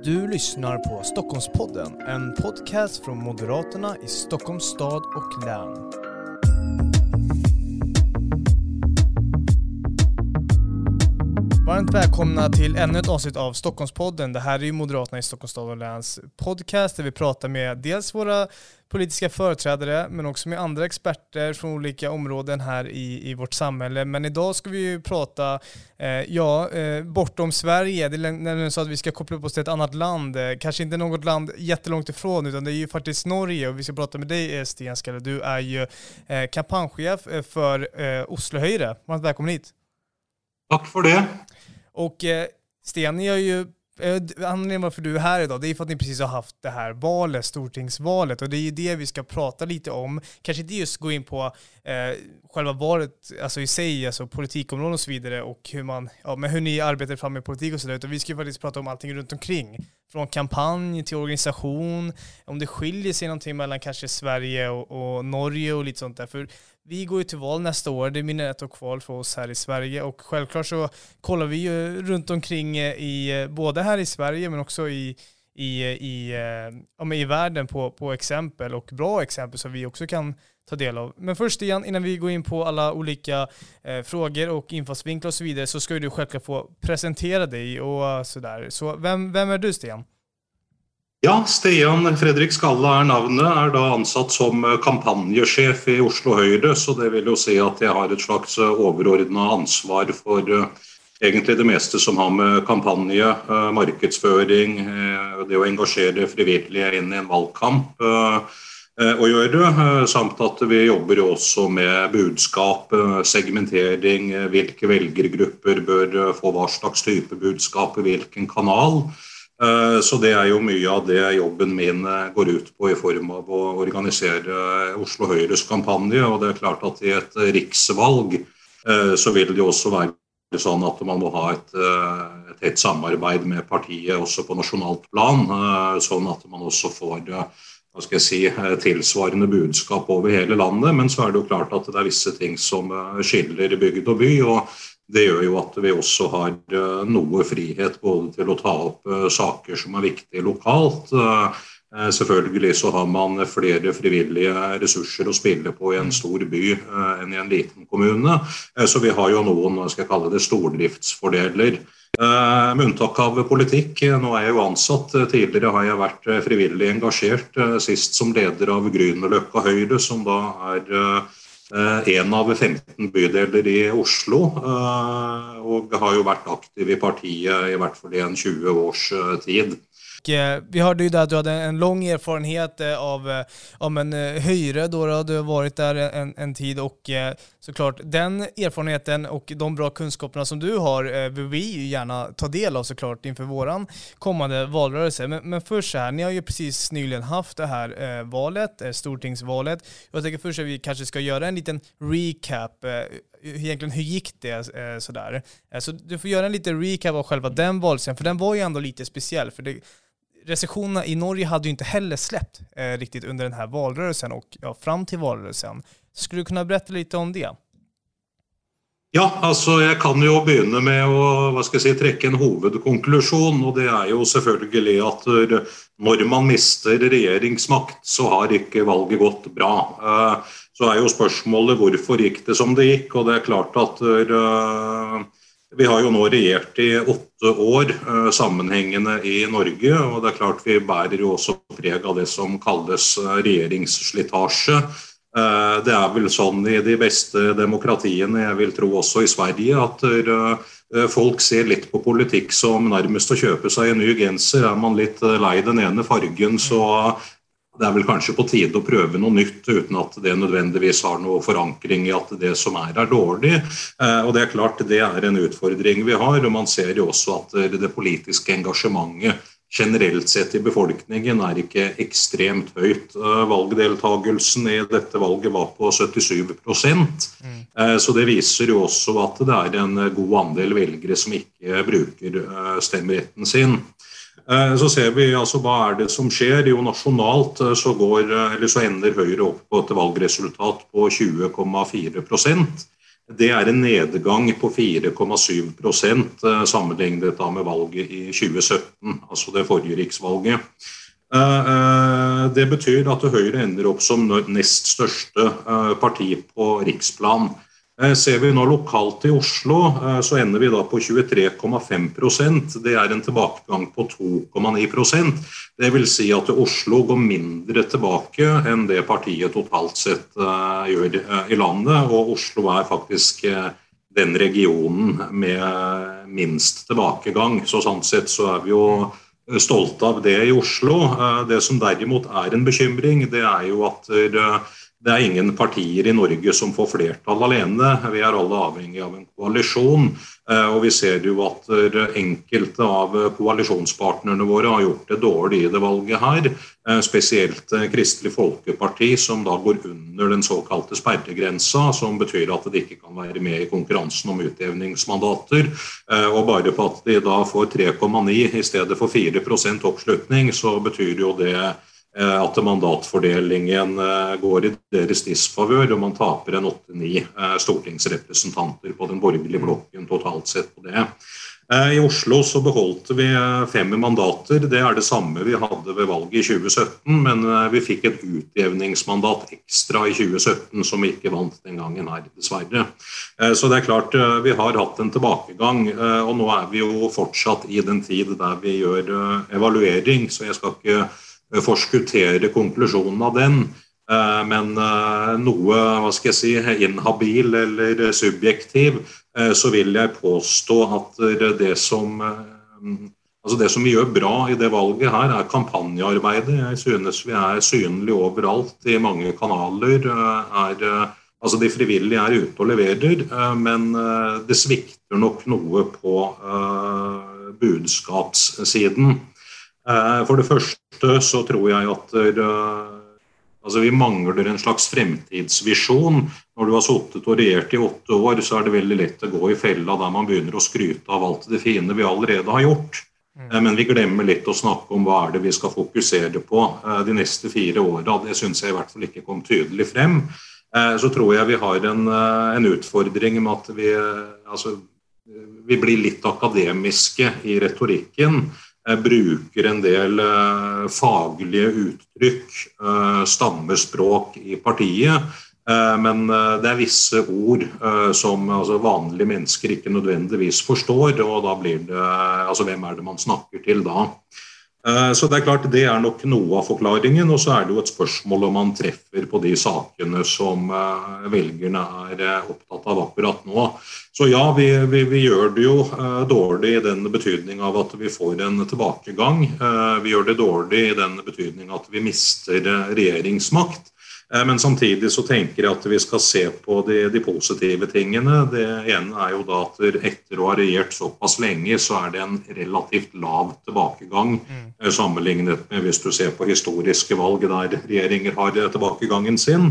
Du lyssnar på Stockholmspodden, en podcast från Moderaterna i Stockholms stad och län. Varmt välkomna till ännu ett avsnitt av Stockholmspodden. Det här är ju Moderaterna i Stockholms stad och läns podcast där vi pratar med dels våra politiska företrädare men också med andra experter från olika områden här i vårt samhälle. Men idag ska vi ju prata bortom Sverige. Det är nämligen så att vi ska koppla upp oss till ett annat land. Kanske inte något land jättelångt ifrån, utan det är ju faktiskt Norge. Och vi ska prata med dig, Sten Skalle. Du är ju kampanjchef för Oslo Høyre. Varmt välkommen hit. Tack för det. Och Sten, ni har ju anledningen varför du är här idag, det är för att ni precis har haft det här valet, stortingsvalet, och det är ju det vi ska prata lite om. Kanske inte just gå in på själva valet alltså i sig, alltså politikområden och så vidare, och hur ni arbetar fram med politik och sådär, utan vi ska ju faktiskt prata om allting runt omkring. Från kampanj till organisation, om det skiljer sig någonting mellan kanske Sverige och Norge och lite sånt där. För vi går ju till val nästa år, det är mina ett och kval för oss här i Sverige, och självklart så kollar vi ju runt omkring både här i Sverige men också i världen på exempel och bra exempel som vi också kan ta del av. Men först igen, innan vi går in på alla olika frågor och infallsvinklar och så vidare, så ska du självklart få presentera dig och sådär. Så vem är du, Sten? Ja, Stian Fredrik Skalle är navnet, är då ansatt som kampanjechef i Oslo Høyre, så det vill ju säga att jag har ett slags överordnat ansvar för egentlig det meste som har med kampanje, markedsføring, det å engasjere frivillige inn i en valgkamp å gjøre, samt at vi jobber jo også med budskap, segmentering, hvilke velgergrupper bør få hva slags type budskap i hvilken kanal. Så det er jo mye av det jobben min går ut på i form av å organisere Oslo Høyres kampanje, og det er klart at i et riksvalg så vil det jo også være sånn at man må ha et tett samarbeid med partiet også på nasjonalt plan, sånn at man også får tilsvarende budskap over hele landet, men så er det jo klart at det er visse ting som skiller bygd og by, og det gjør jo at vi også har noe frihet både til å ta opp saker som er viktige lokalt. Selvfølgelig så har man flere frivillige ressurser å spille på i en stor by enn i en liten kommune, så vi har jo noen, skal jeg kalle det, stordriftsfordeler. Med unntak av politikk, nå er jeg jo ansatt, tidligere har jeg vært frivillig engasjert, sist som leder av Grünerløkka Høyre, som da er en av 15 bydeler i Oslo, og har jo vært aktiv i partiet i hvert fall i en 20 års tid. Vi hörde ju där att du hade en lång erfarenhet av en Høyre då du har varit där en tid, och såklart den erfarenheten och de bra kunskaperna som du har vill vi ju gärna ta del av såklart inför våran kommande valrörelse. Men först så här, ni har ju precis nyligen haft det här valet, stortingsvalet. Jag tänker först att vi kanske ska göra en liten recap. Egentligen hur gick det sådär? Så du får göra en liten recap av själva den valsen, för den var ju ändå lite speciell, för recensionerna i Norge hade ju inte heller släppt riktigt under den här valrörelsen och fram till valrörelsen. Så skulle du kunna berätta lite om det? Ja, alltså jag kan ju börja med att trekke en huvudkonklusion, och det är ju selvfølgelig att när man mister regeringsmakt så har inte valget gått bra. Så är ju spørsmålet varför gick det som det gick, och det är klart att vi har ju nu regerat i 8 år sammenhängande i Norge, och det är klart vi bär ju också preg av det som kallas regeringsslitage. Det är väl sånn i de bästa demokratierna, jag vill tro också i Sverige, att folk ser lite på politik som närmast att köpa sig en ny genser. Är man lite lei den ene fargen, så det är väl kanske på tid att pröva något nytt utan att det nödvändigtvis har någon förankring i att det som är dåligt. Och det är klart det är en utfordring vi har, och man ser ju också att det politiska engagemanget generellt sett i befolkningen är inte extremt högt. Valgdeltagelsen i detta valget var på 77%. Så det visar ju också att det är en god andel väljare som inte brukar stämmerätten sin. Så ser vi alltså vad är det som sker. Jo, nationalt så ender Høyre upp på ett valgresultat på 20,4%. Det en nedgang på 4,7% sammenlignet da med valget i 2017, altså det forrige riksvalget. Det betyr at Høyre ender opp som nest største parti på riksplan. Ser vi nå lokalt i Oslo, så ender vi da på 23,5%. Det en tilbakegang på 2,9%. Det vil si at Oslo går mindre tilbake enn det partiet totalt sett gjør i landet, og Oslo faktisk den regionen med minst tilbakegang. Så sånn sett så vi jo stolte av det i Oslo. Det som derimot en bekymring, det jo at det ingen partier i Norge som får flertall alene. Vi alle avhengig av en koalisjon, og vi ser jo at enkelte av koalisjonspartnerne våre har gjort det dårlig i det valget her, spesielt Kristelig Folkeparti, som da går under den såkalte sperregrensa, som betyr at de ikke kan være med i konkurransen om utjevningsmandater, og bare på at de da får 3,9 i stedet for 4% oppslutning, så betyr jo det at mandatfordelingen går i deres disfavør, og man taper 8-9 stortingsrepresentanter på den borgerlige blokken totalt sett på det. I Oslo så beholdt vi 5 mandater, det det samme vi hadde ved valget i 2017, men vi fikk et utjevningsmandat ekstra i 2017 som vi ikke vant den gangen her, dessverre. Så det klart, vi har hatt en tilbakegang, og nå vi jo fortsatt i den tid der vi gjør evaluering, så jeg skal ikke forskuttere konklusjonen av den, men noe, hva skal jeg si, inhabil eller subjektiv, så vil jeg påstå at det som vi gjør bra i det valget her kampanjearbeidet. Jeg synes vi synlige overalt i mange kanaler, altså de frivillige ute og leverer, men det svikter nok noe på budskapssiden. For det første så tror jeg at vi mangler en slags fremtidsvisjon. Når du har suttet og regjert i 8 år, så det veldig lett å gå i fella der man begynner å skryte av alt det fine vi allerede har gjort. Men vi glemmer litt å snakke om hva det vi skal fokusere på de neste 4 årene. Det synes jeg i hvert fall ikke kom tydelig frem. Så tror jeg vi har en utfordring med at vi blir litt akademiske i retorikken, bruker en del faglige uttrykk, stammespråk i partiet, men det visse ord som vanlige mennesker ikke nødvendigvis forstår, og da blir det, hvem det man snakker til da? Så det klart, det nok noe av forklaringen, og så det jo et spørsmål om man treffer på de sakene som velgerne opptatt av akkurat nå. Så ja, vi gjør det jo dårlig i den betydning av at vi får en tilbakegang. Vi gjør det dårlig i den betydning at vi mister regjeringsmakt. Men samtidig så tenker jeg at vi skal se på de positive tingene. Det ene jo da at etter å ha regjert såpass lenge, så det en relativt lav tilbakegang sammenlignet med hvis du ser på historiske valg der regjeringer har tilbakegangen sin.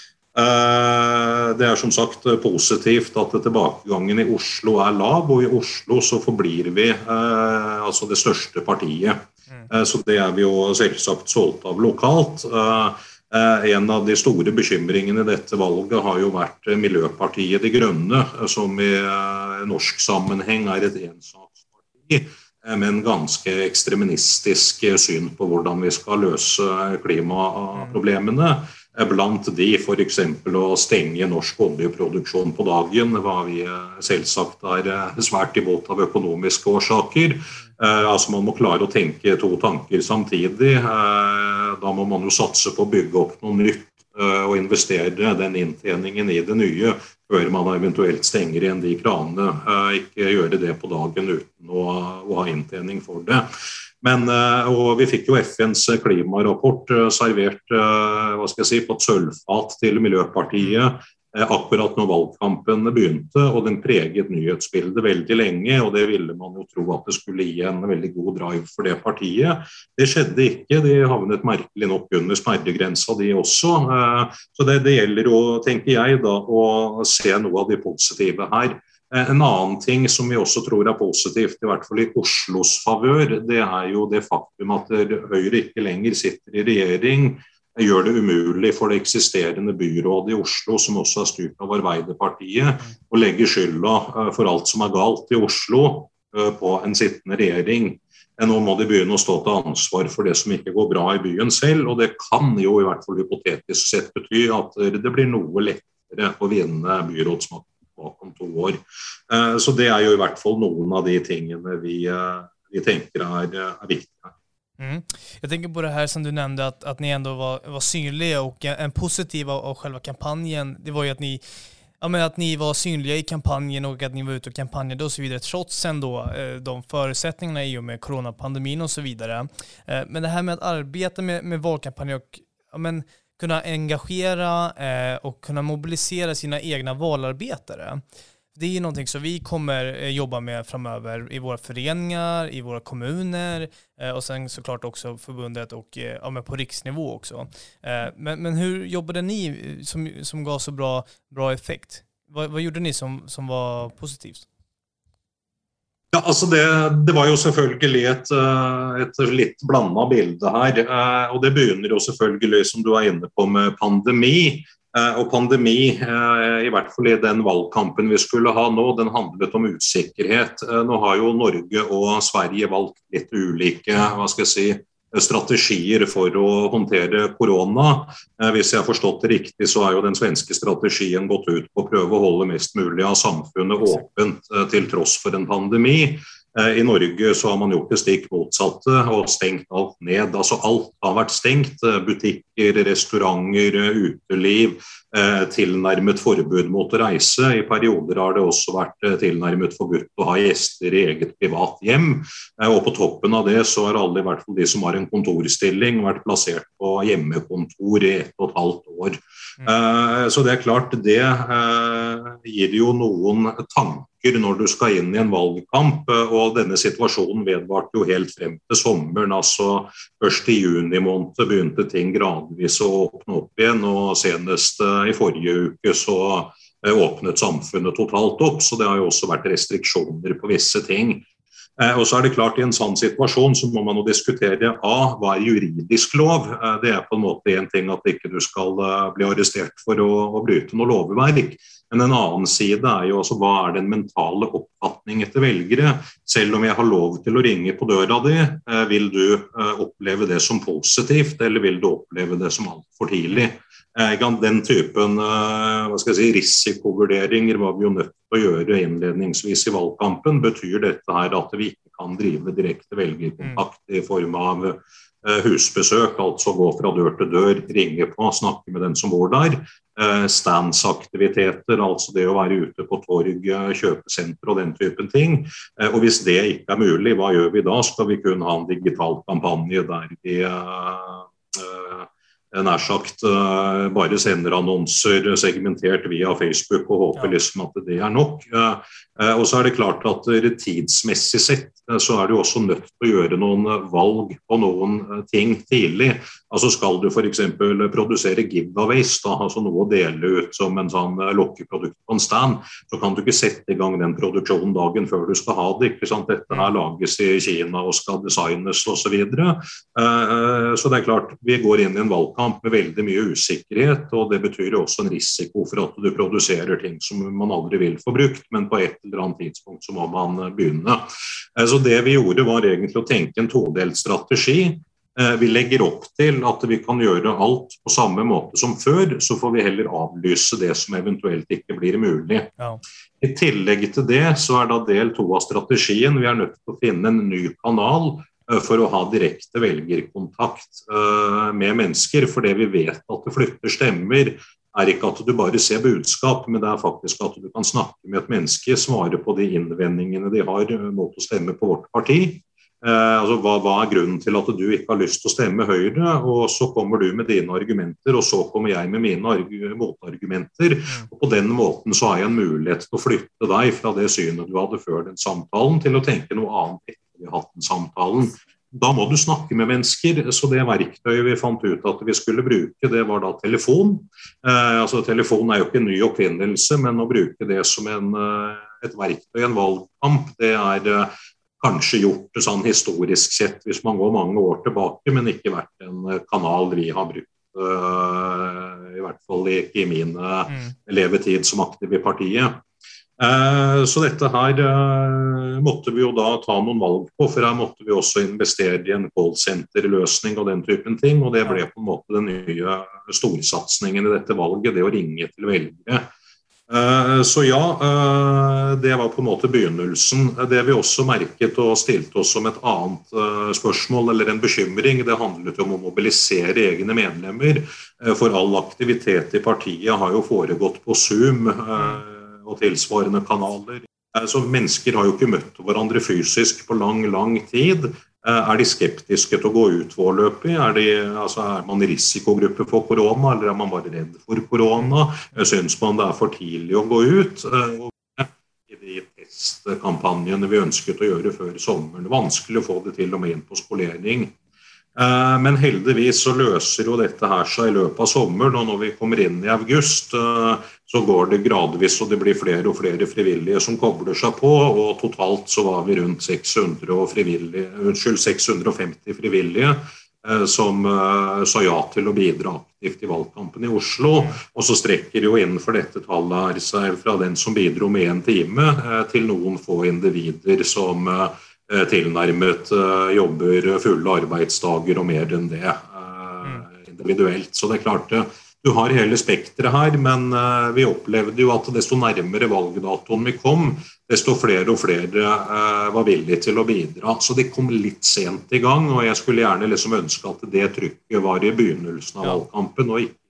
Det som sagt positivt at tilbakegangen i Oslo lav, og i Oslo så forblir vi det største partiet. Så det vi jo selvsagt solgt av lokalt. En av de store bekymringene i dette valget har jo vært Miljøpartiet De Grønne, som i norsk sammenheng et ensaksparti, men ganske ekstremistisk syn på hvordan vi skal løse klimaproblemene. Blant de for eksempel å stenge norsk oljeproduksjon på dagen, hva vi selvsagt svært imot av økonomiske årsaker. Man må klare å tenke 2 tanker samtidig. Da må man jo satse på å bygge opp noe nytt og investere den inntjeningen i det nye før man eventuelt stenger igjen de kranene. Ikke gjøre det på dagen uten å ha inntjening for det. Men, og vi fikk jo FNs klimarapport servert, på et sølvfat til Miljøpartiet akkurat når valgkampen begynte, og den preget nyhetsbildet veldig lenge, og det ville man jo tro at det skulle gi en veldig god drive for det partiet. Det skjedde ikke, de havnet merkelig nok under sperregrensa de også, så det gjelder jo, tenker jeg da, å se noe av de positive her. En annen ting som vi også tror positivt, i hvert fall i Oslos favør, det jo det faktum at Høyre ikke lenger sitter i regjering, gjør det umulig for det eksisterende byrådet i Oslo, som også styrt av Arbeiderpartiet, å legge skylda for alt som galt i Oslo på en sittende regjering. Nå må de begynne å stå til ansvar for det som ikke går bra i byen selv, og det kan jo i hvert fall hypotetisk sett bety at det blir noe lettere å vinne byrådsmakten bakom 2 år. Så det jo i hvert fall noen av de tingene vi tänker är viktiga. Jag tänker på det här som du nämnde att ni ändå var synliga, och en positiv av själva kampanjen, det var ju att ni var synliga i kampanjen och att ni var ute och kampanjade och så vidare, trots ändå de förutsättningarna i och med coronapandemin och så vidare. Men det här med att arbeta med valkampanjer och kunna engagera och kunna mobilisera sina egna valarbetare. Det är ju någonting som vi kommer jobba med framöver i våra föreningar, i våra kommuner och sen såklart också förbundet och på riksnivå också. Men hur jobbade ni som gav så bra effekt? Vad gjorde ni som var positivt? Ja, altså det var jo selvfølgelig et litt blandet bilde her, og det begynner jo selvfølgelig, som du inne på, med pandemi. Og pandemi, i hvert fall i den valgkampen vi skulle ha nå, den handlet om usikkerhet. Nå har jo Norge og Sverige valgt litt ulike, strategier for å håndtere korona. Hvis jeg har forstått det riktig, så jo den svenske strategien gått ut på å prøve å holde mest mulig av samfunnet åpent til tross for en pandemi. I Norge så har man gjort det stikk motsatte og stengt alt ned. Altså alt har vært stengt, butikker, restauranter, uteliv, tilnærmet forbud mot å reise. I perioder har det også vært tilnærmet forbudt å ha gjester i eget privat hjem. Og på toppen av det så har alle, i hvert fall de som har en kontorstilling, vært plassert på hjemmekontor i 1,5 år. Så det klart, det gir jo noen tanker når du skal inn i en valgkamp, og denne situasjonen vedvarte jo helt frem til sommeren. Altså først i juni måned begynte ting gradvis å åpne opp igjen, og senest i forrige uke så åpnet samfunnet totalt opp, så det har jo også vært restriksjoner på visse ting. Og så det klart, i en sånn situasjon så må man jo diskutere hva juridisk lov. Det på en måte en ting at ikke du skal bli arrestert for å bryte noe lovverk. Men en annen side jo også hva den mentale oppfatningen til velgere. Selv om jeg har lov til å ringe på døra di, vil du oppleve det som positivt, eller vil du oppleve det som alt for tidlig? Den typen risikovurderinger var vi jo nødt til å gjøre innledningsvis i valgkampen. Betyr dette her at vi ikke kan drive direkte velgerkontakt i form av husbesøk, altså gå fra dør til dør, ringe på, snakke med den som bor der, standsaktiviteter, altså det å være ute på torg, kjøpesenter og den typen ting. Og hvis det ikke mulig, hva gjør vi da? Skal vi kunne ha en digital kampanje der vi nær sagt bare sender annonser segmentert via Facebook og håper liksom at det nok. Og så det klart at tidsmessig sett så det jo også nødt til å gjøre noen valg på noen ting tidlig. Altså skal du for eksempel produsere giveaways, altså noe å dele ut som en sånn lokkeprodukt på en stand, så kan du ikke sette i gang den produksjonen dagen før du skal ha det, ikke sant? Dette her lages i Kina og skal designes og så videre. Så det klart, vi går inn i en valgkamp med veldig mye usikkerhet, og det betyr jo også en risiko for at du produserer ting som man aldri vil få brukt, men på et eller annet tidspunkt så må man begynne. Så det vi gjorde var egentlig å tenke en todelt strategi. Vi legger opp til at vi kan gjøre alt på samme måte som før, så får vi heller avlyse det som eventuelt ikke blir mulig. Ja. I tillegg til det så da del 2 av strategien. Vi nødt til å finne en ny kanal for å ha direkte velgerkontakt med mennesker, for det vi vet at det flytter stemmer ikke at du bare ser budskap, men det faktisk at du kan snakke med et menneske, svare på de innvendingene de har mot å stemme på vårt parti. Altså, hva grunnen til at du ikke har lyst til å stemme Høyre, og så kommer du med dine argumenter, og så kommer jeg med mine motargumenter, og på den måten så har jeg en mulighet til å flytte deg fra det synet du hadde før den samtalen, til å tenke noe annet etter vi har hatt den samtalen. Da må du snakke med mennesker, så det verktøyet vi fant ut at vi skulle bruke, det var da telefon. Altså telefon jo ikke en ny oppfinnelse, men å bruke det som et verktøy i en valgkamp, det kanskje gjort det sånn historisk sett, hvis man går mange år tilbake, men ikke vært en kanal vi har brukt I hvert fall ikke I min levetid som aktiv I partiet. Så dette her måtte vi jo da ta noen valg på, for her måtte vi også investere I en callcenter-løsning og den typen ting, og det ble på en måte den nye storsatsningen I dette valget, det å ringe til velgere. Så ja, det var på en måte begynnelsen. Det vi også merket og stilte oss som et annet spørsmål eller en bekymring, det handlet om å mobilisere egne medlemmer, for all aktivitet I partiet har jo foregått på Zoom og tilsvarende kanaler. Så mennesker har jo ikke møtt hverandre fysisk på lang tid. De skeptiske til å gå ut foreløpig? Er man I risikogruppe for korona, eller man bare redd for korona? Synes man det for tidlig å gå ut? I de testkampanjene vi ønsket å gjøre før sommeren. Vanskelig å få det til og med inn på skolering. Men heldigvis så løser jo dette her seg I løpet av sommeren, og når vi kommer inn I august, så går det gradvis, og det blir flere og flere frivillige som kobler seg på, og totalt så var vi rundt 650 frivillige som sa ja til å bidra aktivt I valgkampen I Oslo, og så strekker jo innenfor dette tallet her seg fra den som bidro med 1 time til noen få individer som tilnærmet jobber fulle arbeidsdager og mer enn det individuelt. Så det klart, du har hele spektret her, men vi opplevde jo at desto nærmere valgdatoen vi kom, desto flere og flere var villige til å bidra. Så det kom litt sent I gang, og jeg skulle gjerne liksom ønske at det trykket var I begynnelsen av valgkampen, og ikke.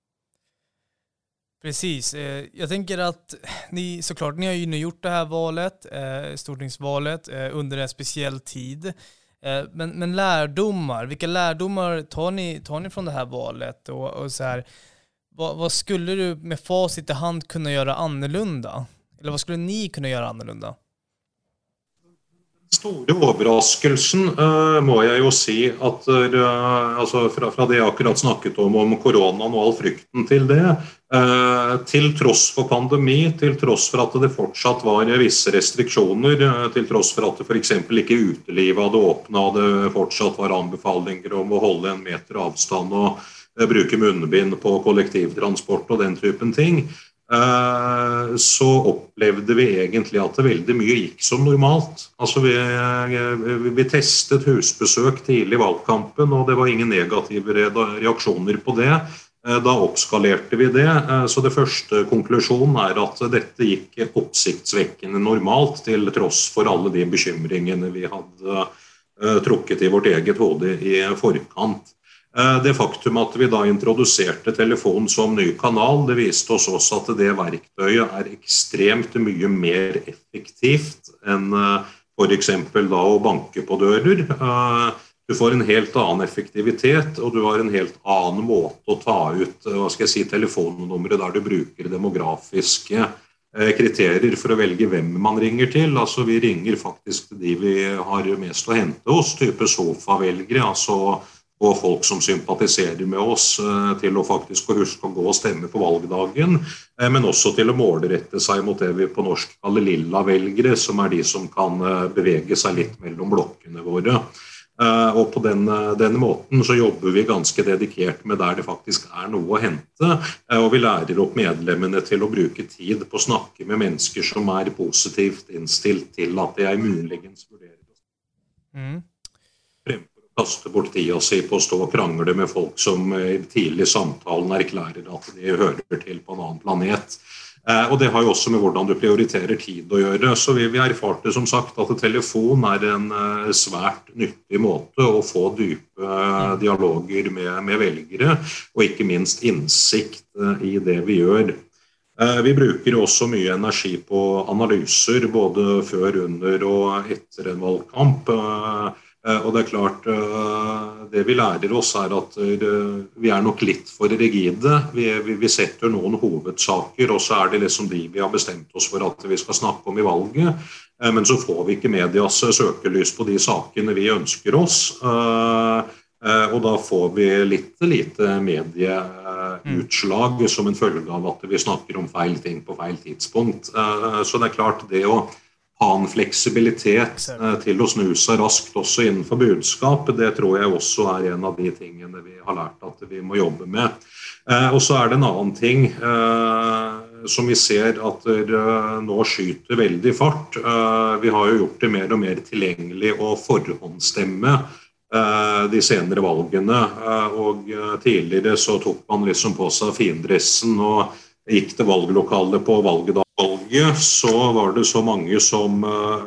Precis. Jag tänker att ni har ju nu gjort det här valet, stortingsvalet, under en speciell tid. Men lärdomar, vilka lärdomar tar ni från det här valet? Och så här, vad skulle du med facit I hand kunna göra annorlunda? Eller vad skulle ni kunna göra annorlunda? Store overraskelsen må jeg jo si at altså fra det jeg akkurat snakket om koronaen og all frykten til det, til tross for pandemi, til tross for at det fortsatt var visse restriksjoner, til tross for at det for eksempel ikke utelivet hadde åpnet, og det fortsatt var anbefalinger om å holde 1 meter avstand og bruke munnbind på kollektivtransport og den typen ting, så opplevde vi egentlig at det veldig mye gikk som normalt. Altså vi testet husbesøk tidlig I valgkampen, og det var ingen negative reaksjoner på det. Da oppskalerte vi det, så det første konklusjonen at dette gikk oppsiktsvekkende normalt, til tross for alle de bekymringene vi hadde trukket I vårt eget hode I forkant. Det faktum at vi da introduserte telefon som ny kanal, det viste oss også at det verktøyet ekstremt mye mer effektivt enn for eksempel da å banke på dører. Du får en helt annen effektivitet, og du har en helt annen måte å ta ut, telefonnummeret der du bruker demografiske kriterier for å velge hvem man ringer til. Altså vi ringer faktisk til de vi har mest å hente hos, type sofavelgere, altså og folk som sympatiserer med oss til å faktisk huske å gå og stemme på valgdagen, men også til å målrette seg mot det vi på norsk kaller lilla velgere, som de som kan bevege seg litt mellom blokkene våre. Og på den måten så jobber vi ganske dedikert med der det faktisk noe å hente, og vi lærer opp medlemmene til å bruke tid på å snakke med mennesker som positivt innstilt til at de muligens vurderer kaste bort tida si på å stå og krangle med folk som I tidlig samtalen erklærer at de hører til på en annen planet. Og det har jo også med hvordan du prioriterer tid å gjøre. Så vi erfarte som sagt at telefon en svært nyttig måte å få dype dialoger med velgere, og ikke minst innsikt I det vi gjør. Vi bruker også mye energi på analyser, både før, under og etter en valgkamp. Og det klart, det vi lærer oss at vi nok litt for rigide. Vi setter noen hovedsaker, og så det liksom de vi har bestemt oss for at vi skal snakke om I valget. Men så får vi ikke medias søkelys på de sakene vi ønsker oss. Og da får vi lite medieutslag som en følge av at vi snakker om feil ting på feil tidspunkt. Så det klart, det å ha en fleksibilitet til å snu seg raskt også innenfor budskap. Det tror jeg også en av de tingene vi har lært at vi må jobbe med. Og så det en annen ting som vi ser at nå skyter veldig fart. Vi har jo gjort det mer og mer tilgjengelig å forhåndsstemme de senere valgene, og tidligere så tok man liksom på seg findressen og gikk til valglokalet på valgdag. Så var det så mange som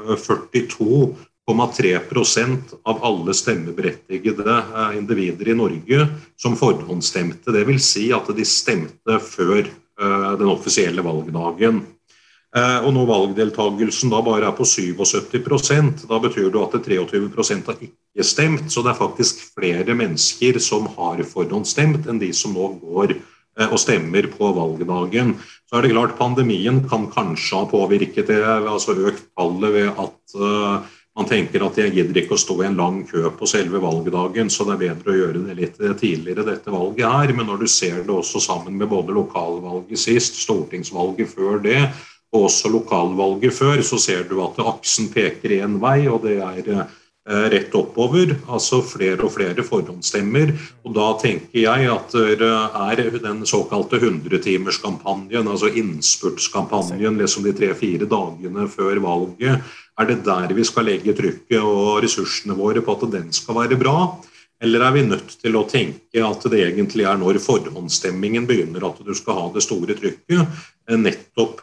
42,3% av alle stemmeberettigede individer i Norge som forhåndsstemte. Det vil si at de stemte før den offisielle valgdagen. Og når valgdeltagelsen da bare på 77%, da betyr det at 23% har ikke stemt, så det faktisk flere mennesker som har forhåndsstemt enn de som nå går og stemmer på valgdagen. Så det klart pandemien kan kanskje ha påvirket det, altså økt tallet ved at man tenker at jeg gidder ikke å stå i en lang kø på selve valgdagen, så det bedre å gjøre det litt tidligere dette valget her. Men når du ser det også sammen med både lokalvalget sist, stortingsvalget før det, og også lokalvalget før, så ser du at aksen peker i en vei, og det rett oppover, altså flere og flere forhåndsstemmer, og da tenker jeg at det den såkalte 100-timerskampanjen, altså innspurtskampanjen, liksom de 3-4 dagene før valget, det der vi skal legge trykket og ressursene våre på at den skal være bra, eller vi nødt til å tenke at det egentlig når forhåndsstemmingen begynner at du skal ha det store trykket, nettopp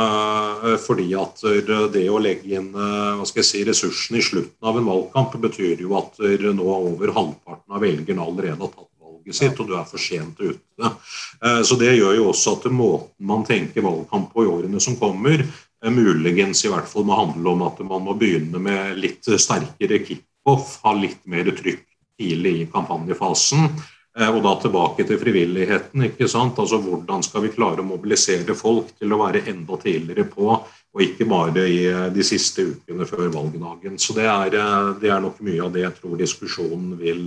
fordi at det å legge inn ressursene i slutten av en valgkamp betyr jo at nå over halvparten av velgerne allerede har tatt valget sitt, og du for sent ute. Så det gjør jo også at måten man tenker valgkamp på i årene som kommer, muligens i hvert fall må handle om at man må begynne med litt sterkere kick-off, ha litt mer trykk tidlig i kampanjefasen, og da tilbake til frivilligheten, ikke sant? Altså hvordan skal vi klare å mobilisere folk til å være enda tidligere på, og ikke bare i de siste ukene før valgdagen. Så det nok mye av det jeg tror diskusjonen vil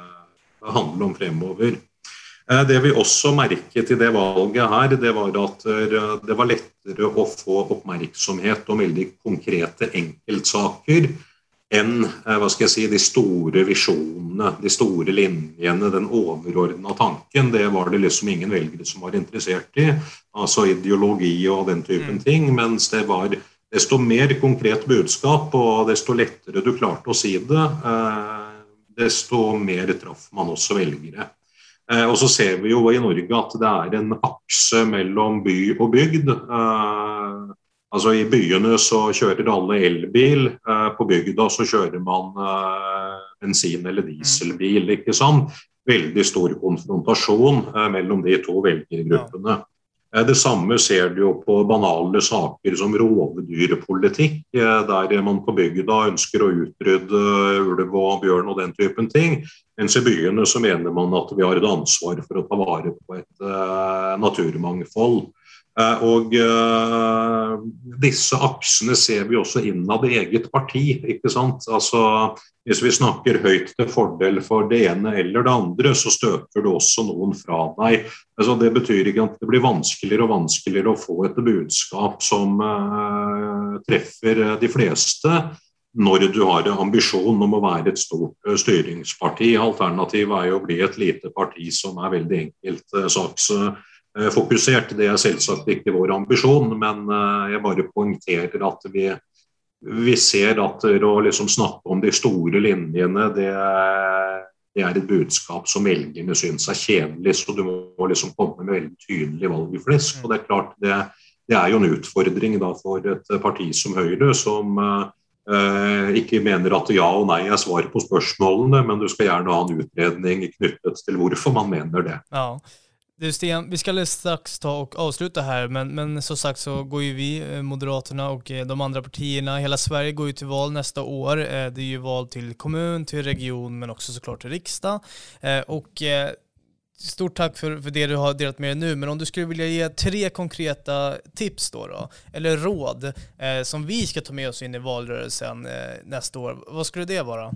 handle om fremover. Det vi også merket i det valget her, det var at det var lettere å få oppmerksomhet om veldig konkrete enkeltsaker, enn, de store visjonene, de store linjene, den overordnede tanken. Det var det liksom ingen velgere som var interessert i, altså ideologi og den typen ting, mens det var desto mer konkret budskap, og desto lettere du klarte å si det, desto mer traff man også velgere. Og så ser vi jo i Norge at det en akse mellom by og bygd. Altså i byene så kjører alle elbil, på bygda så kjører man bensin- eller dieselbil, ikke sant? Veldig stor konfrontasjon mellom de to velgergruppene. Det samme ser du jo på banale saker som rovdyrpolitikk, der man på bygda ønsker å utrydde ulv og bjørn og den typen ting, mens i byene så mener man at vi har et ansvar for å ta vare på et naturmangfold. Og disse aksene ser vi også innad i eget parti, ikke sant? Altså, hvis vi snakker høyt til fordel for det ene eller det andre, så støter du også noen fra deg. Altså, det betyr ikke at det blir vanskeligere og vanskeligere å få et budskap som treffer de fleste, når du har en ambisjon om å være et stort styringsparti. Alternativet jo å bli et lite parti som veldig enkelt saksfokusert. Det selvsagt ikke vår ambisjon, men jeg bare poengterer at vi ser at å liksom snakke om de store linjene, det et budskap som velgerne synes kjedelig, så du må liksom komme med veldig tydelig valgflesk, og det klart, det jo en utfordring da for et parti som Høyre, som ikke mener at ja og nei svar på spørsmålene, men du skal gjerne ha en utredning knyttet til hvorfor man mener det. Ja. Du Sten, vi ska strax ta och avsluta här, men så sagt så går ju vi, Moderaterna och de andra partierna, hela Sverige går ju till val nästa år. Det ju val till kommun, till region, men också såklart till riksdag. Och stort tack för det du har delat med dig nu, men om du skulle vilja ge 3 konkreta tips då, eller råd som vi ska ta med oss in i valrörelsen nästa år, vad skulle det vara?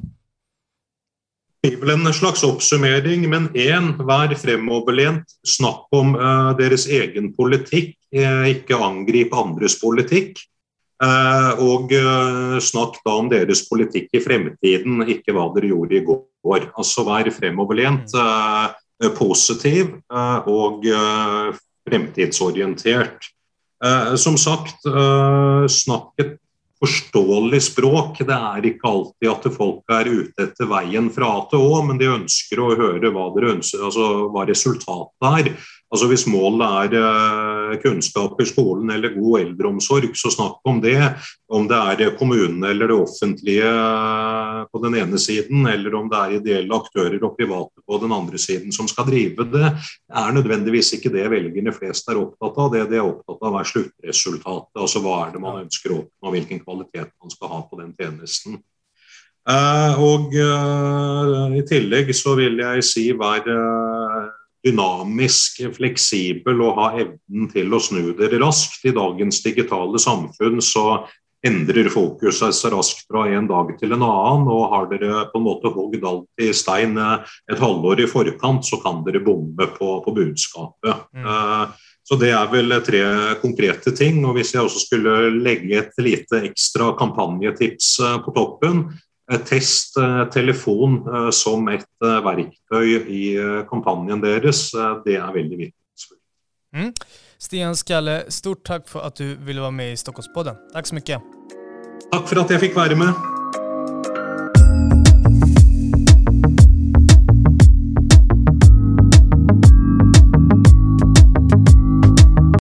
Det vel en slags oppsummering, men vær fremoverlent, snakk om deres egen politikk, ikke angrip andres politikk. Og snakk da om deres politikk I fremtiden, ikke hva dere gjorde I går. Altså vær fremoverlent, positiv og fremtidsorientert. Som sagt, snakk et forståelig språk. Det ikke alltid at folk ute etter veien fra A til Å, men de ønsker å høre hva dere ønsker, altså hva resultatet Altså hvis målet kunnskap I skolen eller god eldreomsorg, så snakk om det. Om det kommunen eller det offentlige på den ene siden, eller om det ideelle aktører og private på den andre siden som skal drive det, nødvendigvis ikke det velgerne flest opptatt av. Det de opptatt av sluttresultatet, altså hva det man ønsker å oppnå, hvilken kvalitet man skal ha på den tjenesten. Og I tillegg så vil jeg si være dynamisk, fleksibel og ha evnen til å snu dere raskt. I dagens digitale samfunn så endrer fokus seg så raskt fra en dag til en annen, og har dere på en måte hogd alt I stein et halvår I forkant, så kan dere bomme på budskapet. Så det vel 3 konkrete ting, og hvis jeg også skulle legge et lite ekstra kampanje-tips på toppen, test telefon som et verktøy I kampanjen deres, det veldig viktig. Stian Skalle, stort tack för att du ville vara med I Stockholmspodden. Tack så mycket. Tack för att jag fick vara med.